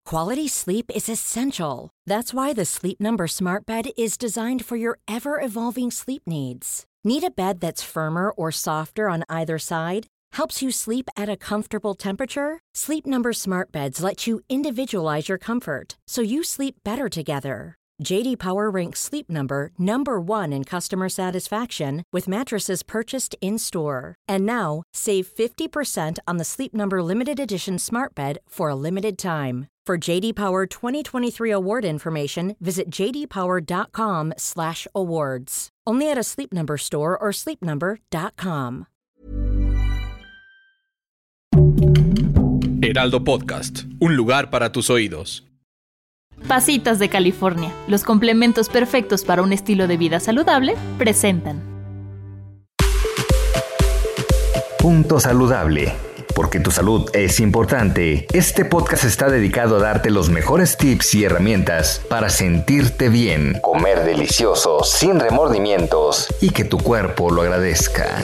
Quality sleep is essential. That's why the Sleep Number Smart Bed is designed for your ever-evolving sleep needs. Need a bed that's firmer or softer on either side? Helps you sleep at a comfortable temperature? Sleep Number Smart Beds let you individualize your comfort, so you sleep better together. J.D. Power ranks Sleep Number number 1 in customer satisfaction with mattresses purchased in-store. And now, save 50% on the Sleep Number Limited Edition Smart Bed for a limited time. For J.D. Power 2023 award information, visit jdpower.com/awards. Only at a Sleep Number store or sleepnumber.com. Heraldo Podcast, un lugar para tus oídos. Pasitas de California, los complementos perfectos para un estilo de vida saludable, presentan Punto Saludable. Porque tu salud es importante, este podcast está dedicado a darte los mejores tips y herramientas para sentirte bien, comer delicioso, sin remordimientos y que tu cuerpo lo agradezca.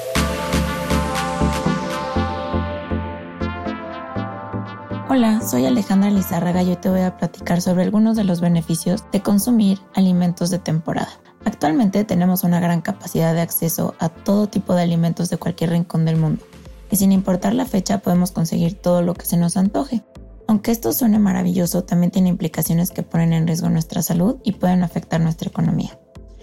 Hola, soy Alejandra Lizárraga y hoy te voy a platicar sobre algunos de los beneficios de consumir alimentos de temporada. Actualmente tenemos una gran capacidad de acceso a todo tipo de alimentos de cualquier rincón del mundo y sin importar la fecha podemos conseguir todo lo que se nos antoje. Aunque esto suene maravilloso, también tiene implicaciones que ponen en riesgo nuestra salud y pueden afectar nuestra economía.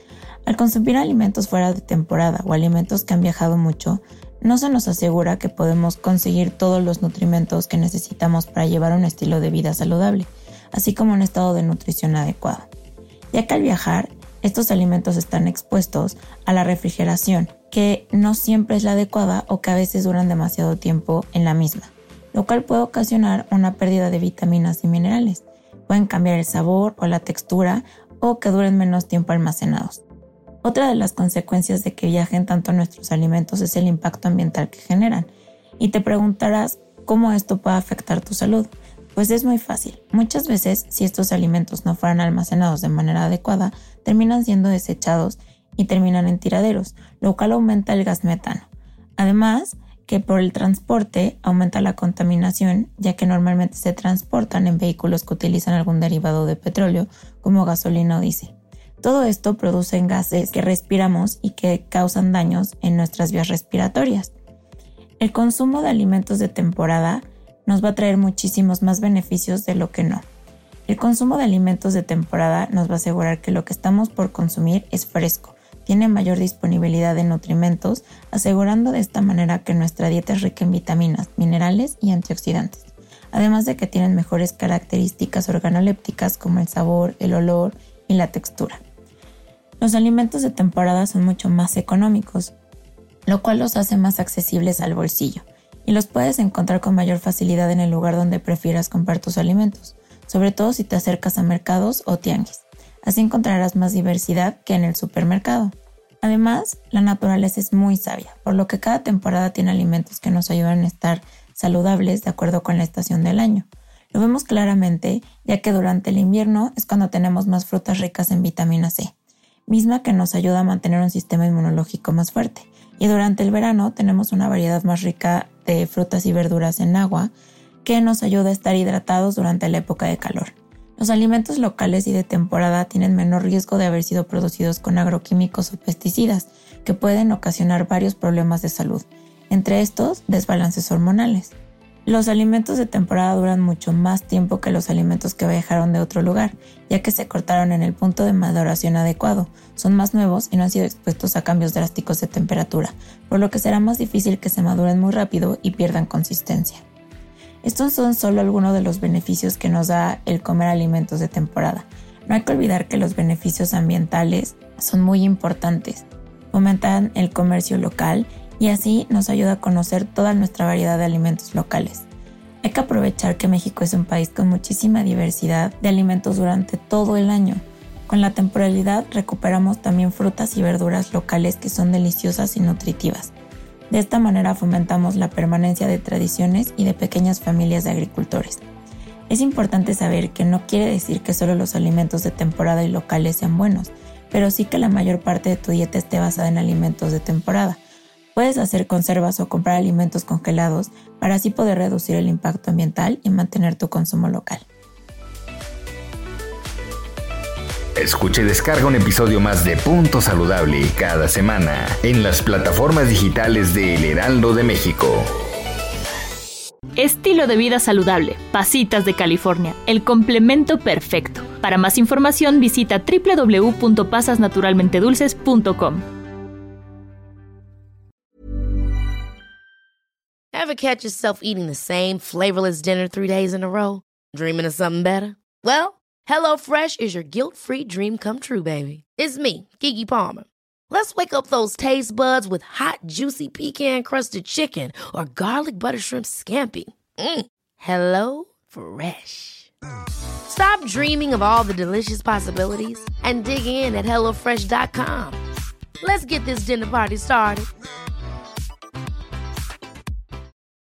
Al consumir alimentos fuera de temporada o alimentos que han viajado mucho, no se nos asegura que podemos conseguir todos los nutrimentos que necesitamos para llevar un estilo de vida saludable, así como un estado de nutrición adecuado. Ya que al viajar, estos alimentos están expuestos a la refrigeración, que no siempre es la adecuada o que a veces duran demasiado tiempo en la misma, lo cual puede ocasionar una pérdida de vitaminas y minerales. Pueden cambiar el sabor o la textura o que duren menos tiempo almacenados. Otra de las consecuencias de que viajen tanto nuestros alimentos es el impacto ambiental que generan. Y te preguntarás cómo esto puede afectar tu salud. Pues es muy fácil. Muchas veces, si estos alimentos no fueran almacenados de manera adecuada, terminan siendo desechados y terminan en tiraderos, lo cual aumenta el gas metano. Además, que por el transporte aumenta la contaminación, ya que normalmente se transportan en vehículos que utilizan algún derivado de petróleo, como gasolina o diésel. Todo esto produce gases que respiramos y que causan daños en nuestras vías respiratorias. El consumo de alimentos de temporada nos va a traer muchísimos más beneficios de lo que no. El consumo de alimentos de temporada nos va a asegurar que lo que estamos por consumir es fresco, tiene mayor disponibilidad de nutrimentos, asegurando de esta manera que nuestra dieta es rica en vitaminas, minerales y antioxidantes. Además de que tienen mejores características organolépticas como el sabor, el olor y la textura. Los alimentos de temporada son mucho más económicos, lo cual los hace más accesibles al bolsillo y los puedes encontrar con mayor facilidad en el lugar donde prefieras comprar tus alimentos, sobre todo si te acercas a mercados o tianguis. Así encontrarás más diversidad que en el supermercado. Además, la naturaleza es muy sabia, por lo que cada temporada tiene alimentos que nos ayudan a estar saludables de acuerdo con la estación del año. Lo vemos claramente, ya que durante el invierno es cuando tenemos más frutas ricas en vitamina C, misma que nos ayuda a mantener un sistema inmunológico más fuerte. Y durante el verano tenemos una variedad más rica de frutas y verduras en agua que nos ayuda a estar hidratados durante la época de calor. Los alimentos locales y de temporada tienen menor riesgo de haber sido producidos con agroquímicos o pesticidas que pueden ocasionar varios problemas de salud, entre estos desbalances hormonales. Los alimentos de temporada duran mucho más tiempo que los alimentos que viajaron de otro lugar, ya que se cortaron en el punto de maduración adecuado, son más nuevos y no han sido expuestos a cambios drásticos de temperatura, por lo que será más difícil que se maduren muy rápido y pierdan consistencia. Estos son solo algunos de los beneficios que nos da el comer alimentos de temporada. No hay que olvidar que los beneficios ambientales son muy importantes. Fomentan el comercio local y así nos ayuda a conocer toda nuestra variedad de alimentos locales. Hay que aprovechar que México es un país con muchísima diversidad de alimentos durante todo el año. Con la temporalidad recuperamos también frutas y verduras locales que son deliciosas y nutritivas. De esta manera fomentamos la permanencia de tradiciones y de pequeñas familias de agricultores. Es importante saber que no quiere decir que solo los alimentos de temporada y locales sean buenos, pero sí que la mayor parte de tu dieta esté basada en alimentos de temporada. Puedes hacer conservas o comprar alimentos congelados para así poder reducir el impacto ambiental y mantener tu consumo local. Escucha y descarga un episodio más de Punto Saludable cada semana en las plataformas digitales de El Heraldo de México. Estilo de vida saludable, Pasitas de California, el complemento perfecto. Para más información visita www.pasasnaturalmentedulces.com. Ever catch yourself eating the same flavorless dinner 3 days in a row? Dreaming of something better? Well, HelloFresh is your guilt-free dream come true, baby. It's me, Keke Palmer. Let's wake up those taste buds with hot, juicy pecan-crusted chicken or garlic butter shrimp scampi. Hello Fresh. Stop dreaming of all the delicious possibilities and dig in at HelloFresh.com. Let's get this dinner party started.